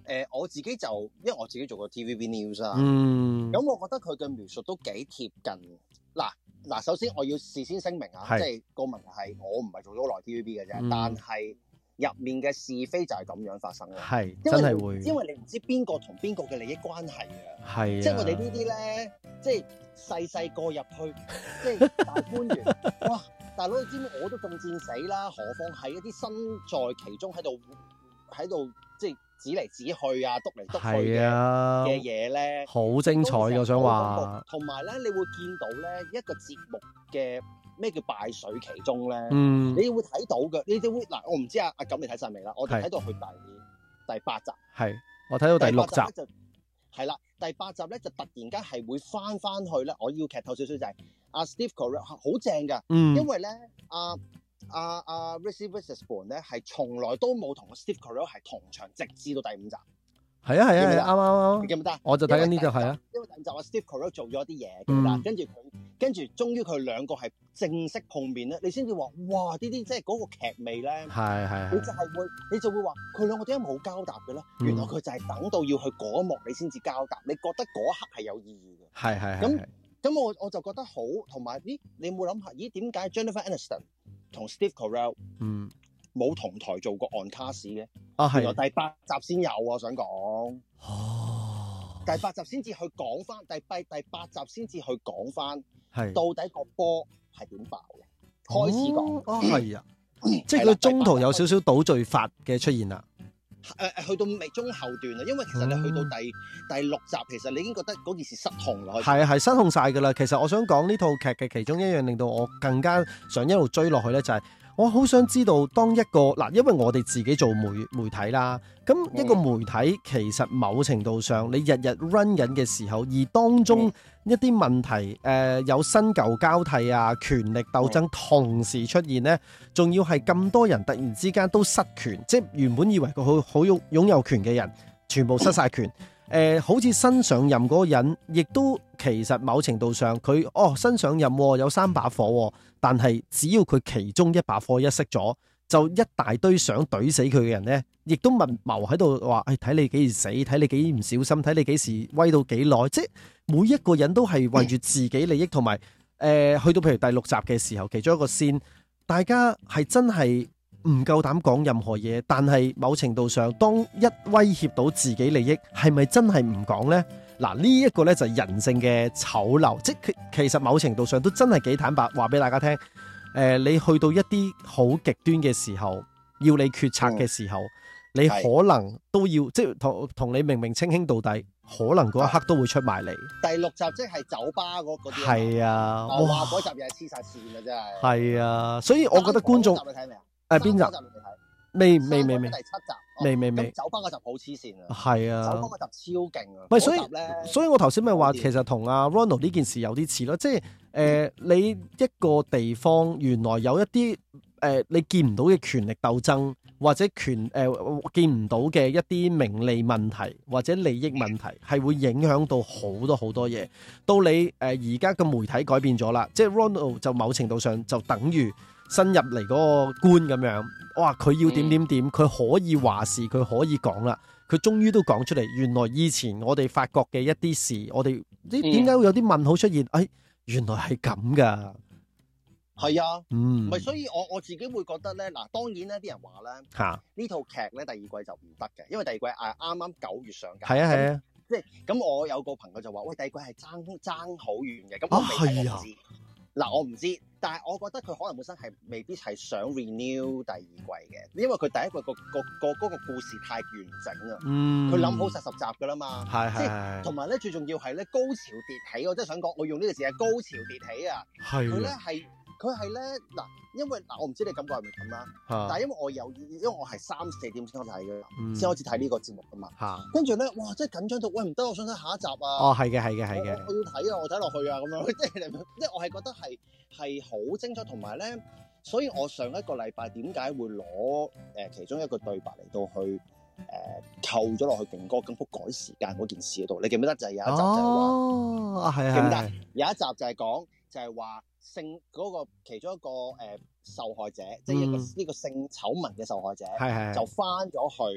呃，我自己就因為我自己做過 T V B News 啊，咁、 嗯、 我覺得佢嘅描述都幾貼近。嗱嗱，首先我要事先聲明啊，即係個問題係我唔係做咗好耐 T V B 嘅啫，嗯、但係入面嘅是非就係咁樣發生嘅，係真係會，因為你唔知邊個同邊個嘅利益關係嘅，係、啊，即係我哋呢啲咧，即係細細個入去，即係大官員，哇！大佬你知唔知我都中箭死啦，何況係一啲身在其中喺度喺度即係指嚟指去啊，篤嚟篤去嘅嘅嘢咧，好精彩嘅，我想話。同埋咧，你會見到咧一個節目嘅咩叫敗絮其中咧，嗯，你會睇到嘅，你哋會嗱，我唔知啊阿錦你睇晒未啦？我哋睇到去第第八集，係我睇到第六集，係啦，第八集咧就突然間係會翻翻去咧，我要劇透少少就係、是。阿、uh, Steve Carell 好正噶，嗯、因為咧阿阿阿 Reese Witherspoon 咧係從來都冇同 Steve Carell 係同場，直至到第五集。係啊係啊係啱啱啱，記唔記得？我就睇緊呢度係啊。因為第五集阿 Steve Carell 做咗啲嘢，記得？跟住佢跟住，終於佢兩個係正式碰面咧，你先至話哇！呢啲即係嗰個劇味咧，係係。你就係會，你就會話佢兩個點解冇交搭嘅咧？嗯、原來佢就係等到要去嗰一幕，你先至交搭。你覺得嗰一刻係有意義嘅。係係咁。咁我我就覺得好，同埋咦，你有冇諗下？咦，點解 Jennifer Aniston 同 Steve Carell 嗯冇同台做過 on cast 嘅？啊，係原來第八集先有啊！我想講哦，第八集先至去講翻，第八第八集先至去講翻，係到底個波係點爆嘅？開始講哦，係啊，即係佢中途有少少倒敘法嘅出現啦。誒誒、呃，去到尾中後段啦，因為其實你去到第、嗯、第六集，其實你已經覺得嗰件事失控啦。係啊，係失控晒噶啦。其實我想講呢套劇嘅其中一樣令到我更加想一路追落去咧，就係、是、我好想知道當一個嗱，因為我哋自己做媒媒體啦，咁一個媒體其實某程度上你日日 run 緊嘅時候，而當中一啲問題誒、呃、有新舊交替啊，權力鬥爭同時出現呢，仲要係咁多人突然之間都失權，即係原本以為佢好好擁擁有權嘅人，全部失晒權。誒、呃，好似新上任嗰個人，亦都其實某程度上佢哦新上任、哦、有三把火、哦，但係只要佢其中一把火一熄咗，就一大堆想懟死佢嘅人呢，亦都密謀喺度話，誒睇你幾時死，睇你幾唔小心，睇你幾時威到幾耐，即係每一個人都係為住自己利益，同埋誒去到譬如第六集嘅時候，其中一個線，大家係真係唔夠膽講任何嘢，但係某程度上，當一威脅到自己利益，係咪真係唔講呢？嗱，呢一個呢就係人性嘅醜陋，即係其實某程度上都真係幾坦白話俾大家聽。誒、呃，你去到一啲好極端嘅時候，要你決策嘅時候，嗯、你可能都要即係同同你明明稱兄道弟，可能嗰一刻都會出埋嚟。第六集即係酒吧嗰嗰啲，係啊，我話嗰集又係黐晒線嘅真係。係啊，所以我覺得觀眾，你睇未啊？誒，邊集？未未未未。第七集。未未未。酒吧嗰集好黐線啊！係啊，酒吧嗰集超勁啊！唔係，所以所以我頭先咪話，其實同阿 Ronald 呢件事有啲似咯，即係誒、呃，你一個地方原來有一啲誒、呃，你見唔到嘅權力鬥爭，或者權誒、呃、見唔到嘅一啲名利問題或者利益問題，係會影響到好多好多嘢。到你誒而家嘅媒體改變咗啦，即係 Ronald 就某程度上就等於新入嚟嗰個官咁樣，哇！佢要點點點，佢可以話事，佢可以講啦。佢終於都講出嚟，原來以前我哋發覺嘅一啲事，我哋啲點解會有啲問號出現？哎，原來係咁噶。係啊，嗯，唔係，所以我我自己會覺得咧，嗱，當然咧，啲人話咧，嚇呢套劇咧第二季就唔得嘅，因為第二季誒啱啱九月上架。係啊係啊，即係咁，我有個朋友就話：喂，第二季係爭爭好遠嘅。咁我未睇，我唔知。嗱，我唔知，但係我覺得佢可能本身係未必係想 renew 第二季嘅，因為佢第一季個個個嗰個故事太完整啦。嗯，佢諗好晒十集噶啦嘛。係係係。同埋咧，最重要係咧高潮迭起，我真係想講，我用呢個字係高潮迭起啊。係。佢咧係。佢係咧嗱，因為嗱，我唔知你感覺係咪咁啦，啊、但係因為我有，因為我係三四點先開始睇嘅，先開始睇呢個節目噶嘛。嚇！跟住咧，哇！真係緊張到，喂唔得，我想睇下一集啊！哦，係嘅，係嘅，係嘅。我要睇啊！我睇落去啊！咁樣，即係即係我係覺得係係好精彩，同埋咧，所以我上一個禮拜點解會攞誒、呃、其中一個對白嚟到去誒、呃、扣咗落去勁歌金曲改時間嗰件事嗰度？你記唔記得就係有一集就係話，哦，係係記唔記得？有一集就係講就係話。性嗰個其中一個誒、呃、受害者，即係一個呢、嗯、個性醜聞嘅受害者，係係就翻咗去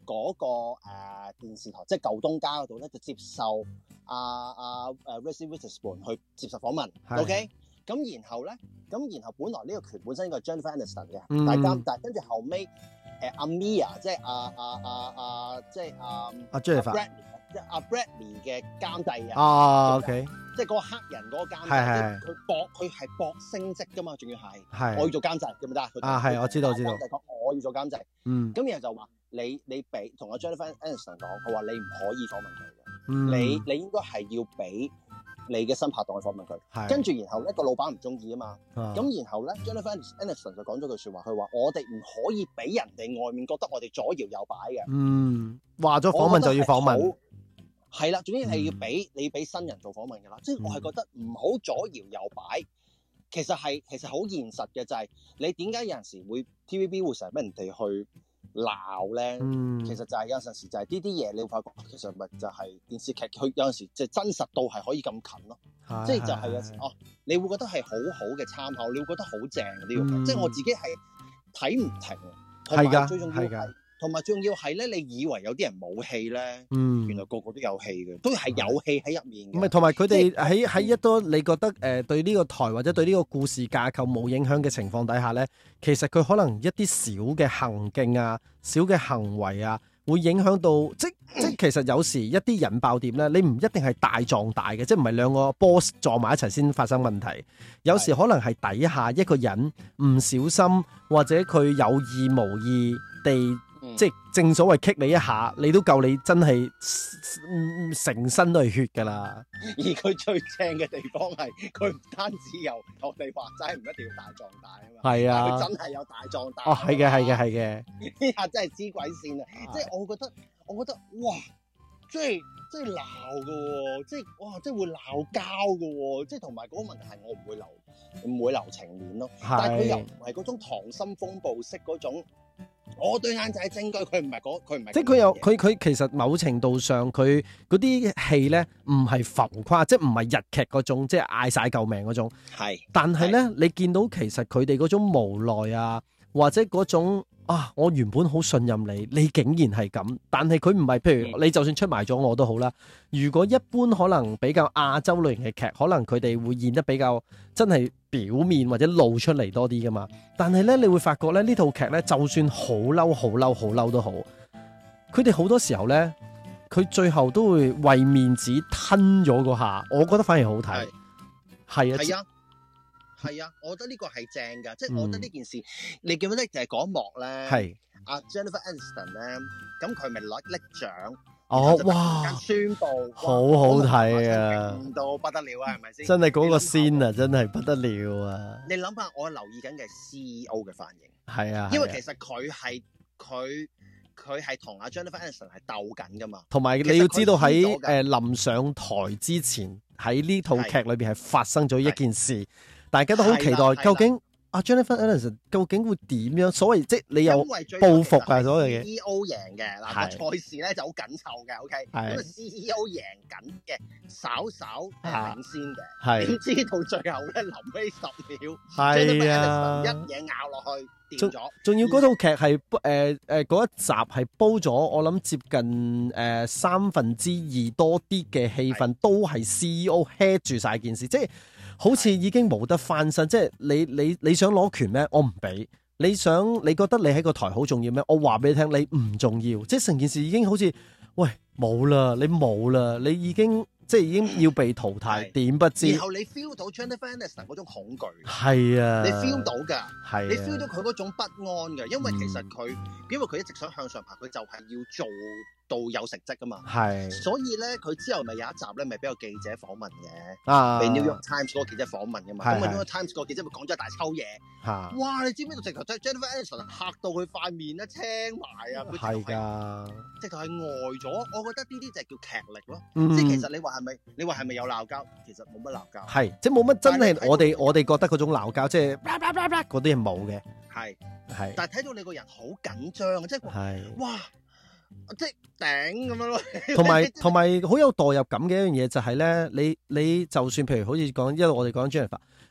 嗰、那個誒、呃、電視台，即係舊東家嗰度咧，就接受阿阿誒 Reese Witherspoon 去接受訪問。OK，咁然後咧，咁然後本來呢個權本身應該係 Jennifer Aniston 嘅，嗯、但係監但係跟住後尾誒阿 Mia 即係阿阿阿阿即係阿阿 Jennifer 即係阿 Bradley 嘅監製啊。 哦 ，OK，即係嗰個黑人嗰個監製，佢搏佢係搏升職噶嘛，仲要係我要做監製，記唔記得啊？啊係，我知道知道。 講我要做監製， 嗯， 咁然後就話你你俾同阿 Jennifer Aniston 講，佢話你唔可以訪問佢嘅，嗯，你你應該係要俾你嘅新拍檔去訪問佢，跟住然後咧個老闆唔中意啊嘛，咁、啊、然後咧 Jennifer Aniston 就講咗句説話，佢話我哋唔可以俾人哋外面覺得我哋左搖右擺嘅，嗯，話咗訪問就要訪問。係啦，總之係要俾、嗯、你俾新人做訪問㗎啦。即係我係覺得唔好左搖右擺，其實係其實好現實嘅，就係、是、你點解有陣時會 T V B 會成日俾人哋去鬧咧？嗯、其實就係有陣時就係呢啲嘢，你會發覺其實咪就係電視劇，佢有陣時即係真實到係可以咁近咯。即係就係有時哦，你會覺得係好好嘅參考，你會覺得好正嘅呢個劇。嗯、即係我自己係睇唔停，同埋最重要係。同埋仲要係咧，你以為有啲人冇戲咧，嗯，原來個個都有戲嘅，都係有戲喺入面嘅。唔係，同埋佢哋喺喺一多你覺得誒、呃、對呢個台或者對呢個故事架構冇影響嘅情況底下咧，其實佢可能一啲小嘅行徑啊、小嘅行為啊，會影響到即即其實有時一啲引爆點咧，你唔一定係大撞大嘅，即係唔係兩個 boss 撞埋一齊先發生問題。有時可能係底下一個人唔小心，或者佢有意無意地。嗯、即係正所謂 kick 你一下，你都夠你真係成身都係血噶啦。而佢最正嘅地方係，佢唔單止有我哋話齋唔一定要大壯大啊嘛。係啊，佢真係有大壯大。哦，係嘅，係嘅，係嘅。呢下真係黐鬼線啊！即係我覺得，我覺得哇，即係即係鬧噶喎，即係哇，即係會鬧交噶喎，即係同埋嗰個問題係我唔會留唔會留情面咯。但係佢又唔係嗰種溏心風暴式嗰種。我對眼就係證據，佢唔係嗰，佢唔係。即係佢有佢佢其實某程度上，佢嗰啲戲咧唔係浮誇，即係唔係日劇嗰種，即係嗌晒救命嗰種。係，但係咧，你見到其實佢哋嗰種無奈啊，或者嗰種啊，我原本好信任你，你竟然係咁，但係佢唔係，譬如你就算出賣咗我都好啦。如果一般可能比較亞洲類型嘅劇，可能佢哋會演得比較真係表面或者露出嚟多啲噶嘛。但係咧，你會發覺咧呢套劇咧，就算好嬲、好嬲、好嬲都好，佢哋好多時候咧，佢最後都會為面子吞咗嗰下，我覺得反而好睇。係啊，係啊，係啊，我覺得呢個係正噶，即係我覺得呢件事，嗯、你記唔記得就係嗰一幕咧？係阿 Jennifer Aniston 咧，咁佢咪攞拎獎。哦，哇！宣布好好睇啊，勁到不得了啊，係咪先？真係嗰個 scene啊，真係不得了啊！你諗下，我留意緊嘅係 C E O 嘅反應，係啊，因為其實佢係佢佢係同阿 Jennifer Aniston 係鬥緊噶嘛。同埋你要知道喺誒臨上台之前，喺呢套劇裏邊係發生咗一件事，大家都好期待究竟。阿 Jennifer Aniston 究竟會點樣？所謂即係你有報復啊，所謂嘅 C E O 贏嘅嗱個賽事咧就好緊湊嘅 ，OK，咁啊 C E O 贏緊嘅，稍稍領先嘅，點知到最後咧臨尾十秒 ，Jennifer Aniston 一嘢咬落去掂咗。仲要嗰套劇係誒誒嗰一集係煲咗，我諗接近誒、呃、三分之二多啲嘅戲份都係 C E O head 住晒件事，即係。好似已經冇得翻身，即係你你你想攞權咩？我唔俾。你想你覺得你喺個台好重要咩？我話俾你聽，你唔重要。即係成件事已經好似，喂冇啦，你冇啦，你已經即係已經要被淘汰，點不知？然後你 feel 到 Jennifer Aniston 嗰種恐懼，係啊，你 feel 到㗎，係、啊、你 feel 到佢嗰種不安㗎，因為其實佢、嗯、因為佢一直想向上爬，佢就係要做到有成績噶嘛，係，所以咧佢之後咪有一集咧，咪俾個記者訪問嘅，啊，俾 New York Times 嗰個記者訪問噶嘛，咁啊 New York Times 個記者咪講咗一大抽嘢，嚇，哇！你知唔知道直頭 Jennifer Aniston 嚇到佢塊面咧青埋啊，係㗎，直頭係呆咗。我覺得呢啲就係叫劇力咯，嗯、即係其實你話係咪？你話係咪有鬧交？其實冇乜鬧交，係，即係冇乜真係我哋我哋覺得嗰種鬧交，即係嗰啲係冇嘅，係係，但係睇到你個人好緊張，即係哇！即係頂咁樣咯，同埋同埋好有代入感嘅一樣嘢就係咧，你你就算譬如好似講，因為我哋講 Jennifer，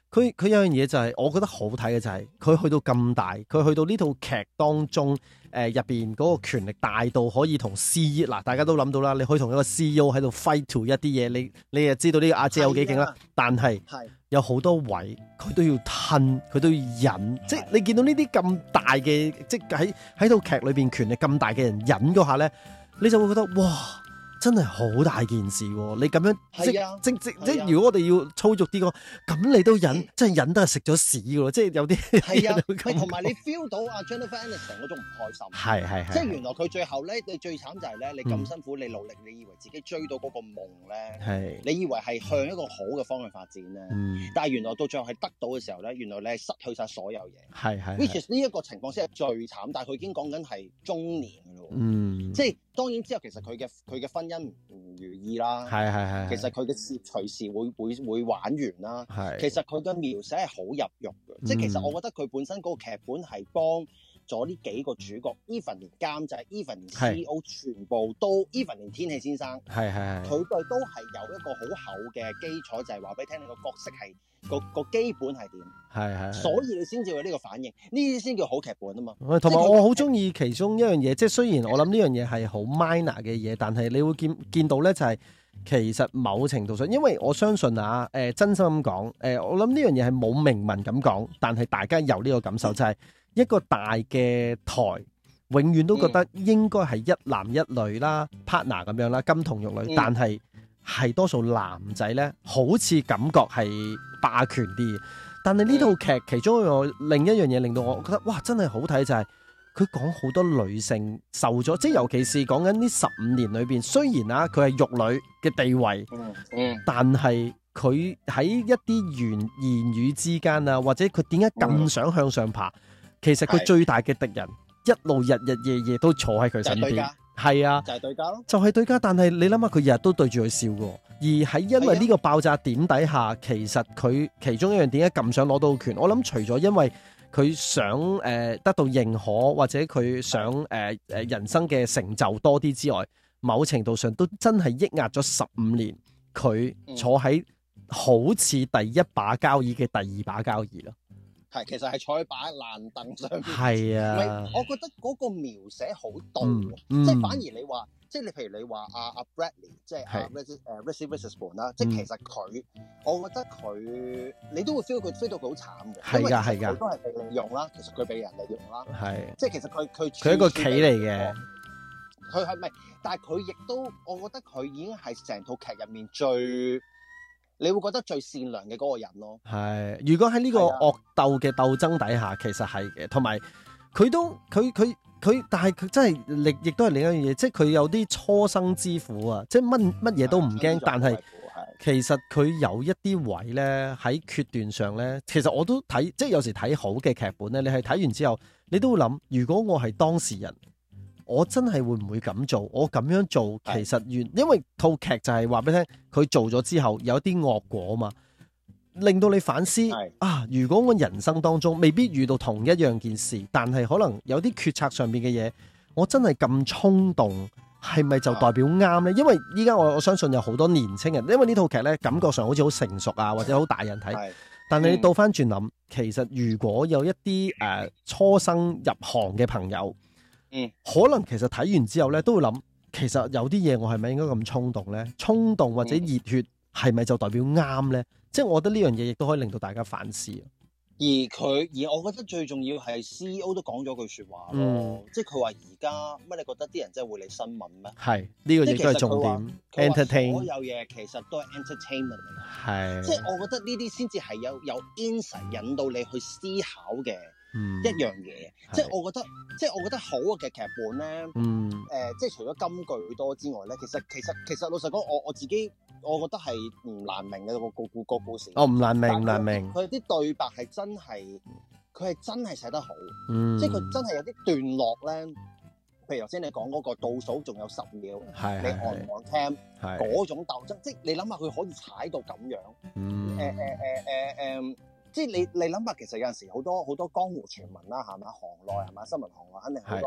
佢佢有樣嘢就係、是、我覺得好睇嘅就係、是、佢去到咁大，佢去到呢套劇當中誒入邊嗰個權力大到可以同 C E O 嗱，大家都諗到啦，你可以同一個 C E O 喺度 fight to 一啲嘢，你你又知道呢個阿姐有幾勁啦。啊、但係有好多位佢都要吞，佢都要忍，的即係你見到呢啲咁大嘅，即係喺喺套劇裏邊權力咁大嘅人忍嗰下咧，你就會覺得哇！真係好大件事喎！你咁樣即、啊、即即即，如果我哋要粗俗啲講，咁你都忍，真係忍得係食咗屎嘅喎！即係有啲係啊， 同埋你 feel 到阿 Jennifer Aniston 嗰種唔開心， 係係係， 即係原來佢最後咧，你最慘就係咧，你咁辛苦，嗯、你努力，你以為自己追到嗰個夢咧，係你以為係向一個好嘅方向發展咧，嗯、但係原來到最後係得到嘅時候咧，原來你係失去晒所有嘢，係係。which is 呢一個情況先係最慘，但係佢已經講緊係中年嘅咯，嗯，即係當然之後其實佢嘅佢嘅婚姻唔如意啦，係係係。其實佢嘅事業隨時會會會玩完啦，係。其實佢嘅描寫係好入肉嘅，嗯、即係其實我覺得佢本身嗰個劇本係幫咗呢幾個主角 ，even 連監製，even 連 C E O 全部都 ，even 連天氣先生，係係係，佢哋都係有一個好厚嘅基礎，就係話俾你聽，你個角色係個個基本係點，係係，所以你先至有呢個反應，呢啲先叫好劇本啊嘛。同埋我好中意其中一樣嘢，即係雖然我諗呢樣嘢係好 minor 嘅嘢，但係你會見見到咧就係、是。其實某程度上，因為我相信啊，誒、呃、真心咁講，誒、呃、我諗呢樣嘢係冇明文咁講，但係大家有呢個感受，就係、是、一個大嘅台，永遠都覺得應該係一男一女啦、嗯、partner 咁樣啦，金童玉女，嗯、但係係多數男仔呢，好似感覺係霸權啲。但係呢套劇其中一個另一樣嘢令到我覺得哇，真係好睇就係、是。佢講好多女性受咗，即係尤其是講緊呢十五年裏邊，雖然啊佢係玉女嘅地位，嗯嗯、但係佢喺一啲言言語之間啊，或者佢點解咁想向上爬？嗯、其實佢最大嘅敵人，是一路日日夜夜都坐喺佢身邊，係啊，就係對家咯，就係對家。但係你諗下，佢日日都對住佢笑嘅，而喺因為呢個爆炸點底下，其實佢其中一樣點解咁想攞到權？我諗除咗因為佢想誒、呃、得到認可，或者佢想誒誒、呃、人生嘅成就多啲之外，某程度上都真係抑壓咗十五年，佢坐喺好似第一把交椅嘅第二把交椅咯。係，其實係坐喺把爛凳上面。係啊，我覺得嗰個描寫好到，嗯嗯、即係反而你話。即係你，譬如你話阿阿 Bradley，即係阿 Reese 誒 Reese Witherspoon 啦，即係其實佢，我覺得佢，你都會 feel 佢 feel 到佢好慘嘅，係㗎係㗎，佢都係被利用啦，其實佢被人利用啦，係，即係其實佢佢佢係一個棋嚟嘅，佢係咪？但係佢亦都，我覺得佢已經係成套劇入面最，你會覺得最善良嘅嗰個人咯。係，如果喺呢個惡鬥嘅鬥爭底下，其實係嘅，同埋佢都佢佢。佢但係佢真係力，亦都係另一樣嘢，即係佢有啲初生之虎啊！即係乜乜嘢都唔驚，但係其實佢有一啲位咧喺決斷上咧，其實我都睇，即係有時睇好嘅劇本咧，你係睇完之後，你都會諗，如果我係當事人，我真係會唔會咁做？我咁樣做其實原因為套劇就係話俾你聽，佢做咗之後有啲惡果啊嘛。令到你反思啊！如果我人生當中未必遇到同一樣件事，但係可能有啲決策上面嘅嘢，我真係咁衝動，係咪就代表啱呢？因為依家我我相信有好多年青人，因為呢套劇呢感覺上好似好成熟啊，或者好大人睇。但係你倒翻轉諗，其實如果有一啲誒、呃、初生入行嘅朋友，嗯，可能其實睇完之後呢，都會諗，其實有啲嘢我係咪應該咁衝動呢？衝動或者熱血係咪就代表啱呢？即係我覺得呢樣嘢亦都可以令到大家反思。而佢而我覺得最重要係 C E O 都講咗句説話咯，嗯、即係佢話而家乜你覺得啲人真係會理新聞咩？係呢、呢個亦都係重點。Entertain 所有嘢其實都係 entertainment 嚟嘅，係即係我覺得呢啲先至係有有 insight 引導你去思考嘅一樣嘢。即係我覺得即係我覺得好嘅劇本咧，誒、嗯呃、即係除咗金句多之外咧，其實其實其實老實講，我我自己。我覺得係唔難明嘅個個個故事。哦，唔難明，唔難明。佢啲對白係真係，佢係真係寫得好。嗯。即係佢真係有啲段落咧，譬如頭先你講嗰個倒數仲有十秒，係你按唔按 cam，係嗰種鬥爭，即係你諗下佢可以踩到咁樣。嗯。誒誒誒誒誒，即係你你諗下，其實有陣時好多好多江湖傳聞啦，係嘛？行內係嘛？新聞行內肯定好多。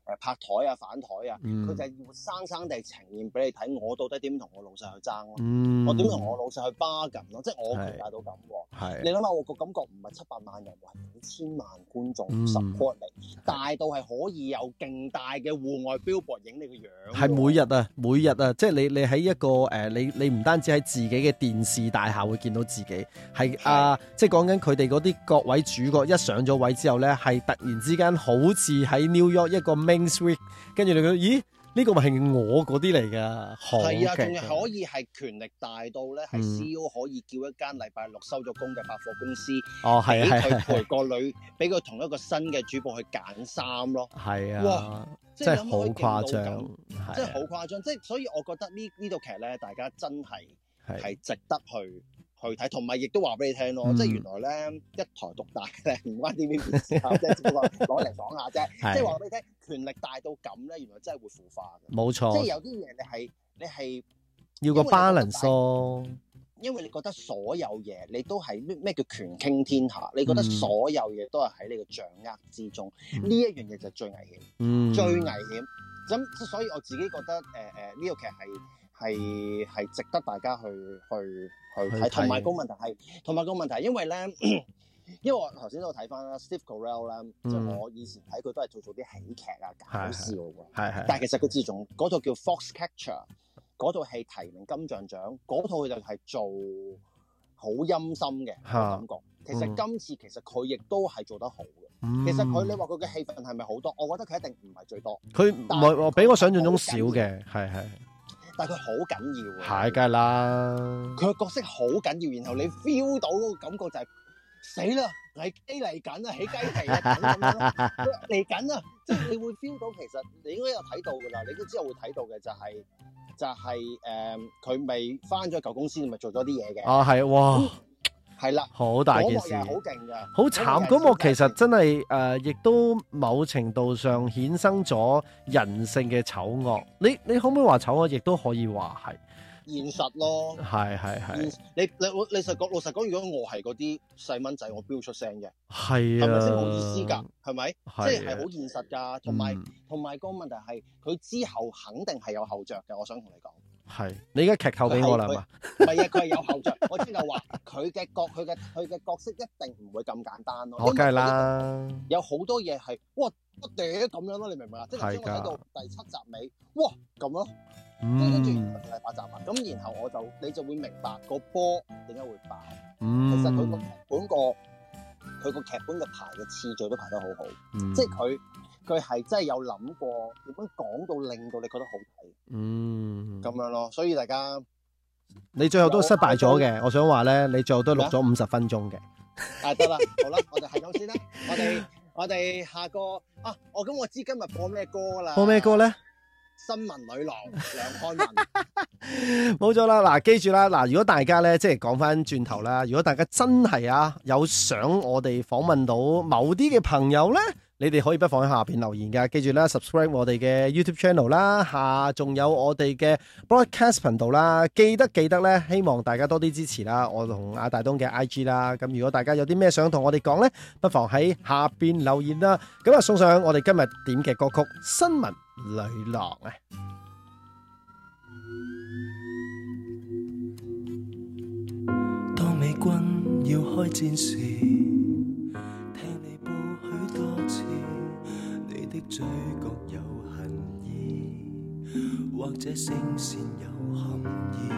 拍台啊反台啊，佢、嗯、就係要生生地呈現俾你睇，我到底點同我老細去爭咯、嗯，我點同我老細去 bargain 咯，即係我期待到咁喎。你諗下，我個感覺唔係七百萬人，係幾千萬觀眾 support 你，大到係可以有勁大嘅戶外 billboard 影你個樣。係每日啊，每日啊，即係你你喺一個誒、呃，你你唔單止喺自己嘅電視大廈會見到自己，係啊，即係講緊佢哋嗰啲各位主角一上咗位之後咧，係突然之間好似喺 New York 一個 Main Street， 跟住你覺得咦？呢、這個咪係我嗰啲嚟㗎， 係啊，仲可以係權力大到咧，係、嗯、C E O 可以叫一間禮拜六收咗工嘅百貨公司， 哦係啊， 俾佢陪個女，俾佢同一個新嘅主播去揀衫咯， 係啊， 哇， 真係好誇張， 真係好誇張，即係所以我覺得呢呢套劇咧，大家真係係值得去。去睇，同埋亦都話俾你聽咯、嗯，即係原來咧一台獨大咧，唔關 T V B 事啊，即係只不過攞嚟講下啫。即係話俾你聽，權力大到咁咧，原來真係會腐化嘅。冇錯，即係有啲嘢你係你係要個 balance 咯。 因為你覺得所有嘢你都係咩咩叫權傾天下、嗯，你覺得所有嘢都係喺你嘅掌握之中，呢、嗯、一樣嘢就最危險、嗯，最危險。咁所以我自己覺得誒誒呢套劇係。係係值得大家去去去睇，同埋個問題係，同埋個問題，因為咧，因為我頭先都睇翻啦 Steve Carell 啦，就我以前睇佢都係做做啲喜劇啊，搞笑喎，係係。但係其實佢自從嗰套叫 Foxcatcher 嗰套戲提名金像獎，嗰套佢就係做好陰森嘅感覺。其實今次其實佢亦都係做得好嘅、嗯。其實佢你話佢嘅戲份係咪好多？我覺得佢一定唔係最多。佢唔係比我想象中少嘅，係係。但係佢好緊要喎，係梗係啦。佢個角色好緊要，然後你 feel 到嗰個感覺就係、是、死啦，嚟雞嚟緊啊，起雞皮啊，咁樣咯，嚟緊啊，即係你會 feel 到其實你應該有睇到㗎啦，你都之後會睇到嘅就係、是、就係、是、誒，佢未翻咗舊公司，咪做咗啲嘢嘅。啊，係哇。嗯係啦，好大件事，好勁㗎，好慘。嗰幕其實真係誒，亦、呃、都某程度上衍生咗人性嘅醜惡。你你可唔可以話醜惡？亦都可以話係現實咯。係係係。你你你實講老實講，如果我係嗰啲細蚊仔，我飆出聲嘅。係啊。係咪先冇意思㗎？係咪？即係係好現實㗎。同埋同埋個問題係，佢之後肯定係有後着嘅。我想同你講。係，你而家劇透俾我啦嘛？唔係啊，佢係有後著。我即係話佢嘅角，佢嘅佢嘅角色一定唔會咁簡單咯。我梗係啦，有好多嘢係哇不嗲咁樣咯，你明唔明啊？即係頭先我睇到第七集尾，哇咁咯，跟跟住第八集啊，咁然後我就你就會明白個波點解會爆。嗯、其實佢個劇本個佢個劇本嘅排嘅次序都排得好好，嗯、即係佢。佢係真係有諗過點樣講到令到你覺得好睇，嗯，咁樣咯。所以大家，你最後都失敗咗嘅。我想話咧，你最後都錄咗五十分鐘嘅。啊，得啦，好啦，我哋係咁先啦。我哋我哋下個啊，我咁我知今日播咩歌啦？播咩歌咧？新聞女郎梁漢文，冇錯啦。嗱，記住啦，嗱，如果大家咧，即係講翻轉頭啦，如果大家真係啊有想我哋訪問到某啲嘅朋友咧，你哋可以不妨喺下邊留言噶。記住啦 ，subscribe 我哋嘅 YouTube channel 啦，下仲有我哋嘅 broadcast 頻道啦。記得記得咧，希望大家多啲支持啦。我同阿大東嘅 I G 啦。咁如果大家有啲咩想同我哋講咧，不妨喺下邊留言啦。咁啊，送上我哋今日點嘅歌曲《新聞女郎》啊。當美軍要開戰時，聽你報許多次，你的嘴角有恨意，或者聲線有含義。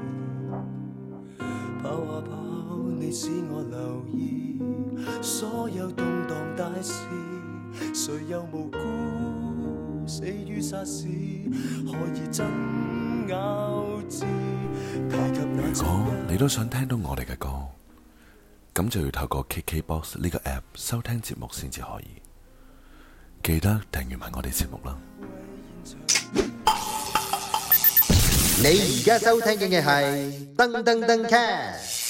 跑啊跑，你使我留意，所有動盪大事，誰又無辜死於沙士，何以爭拗之？如果你都想聽到我哋嘅歌，咁就要透過 K K B O X 呢個 app 收聽節目先至可以。記得訂閱埋我哋節目啦。 你而家收聽嘅係噔噔噔 cast。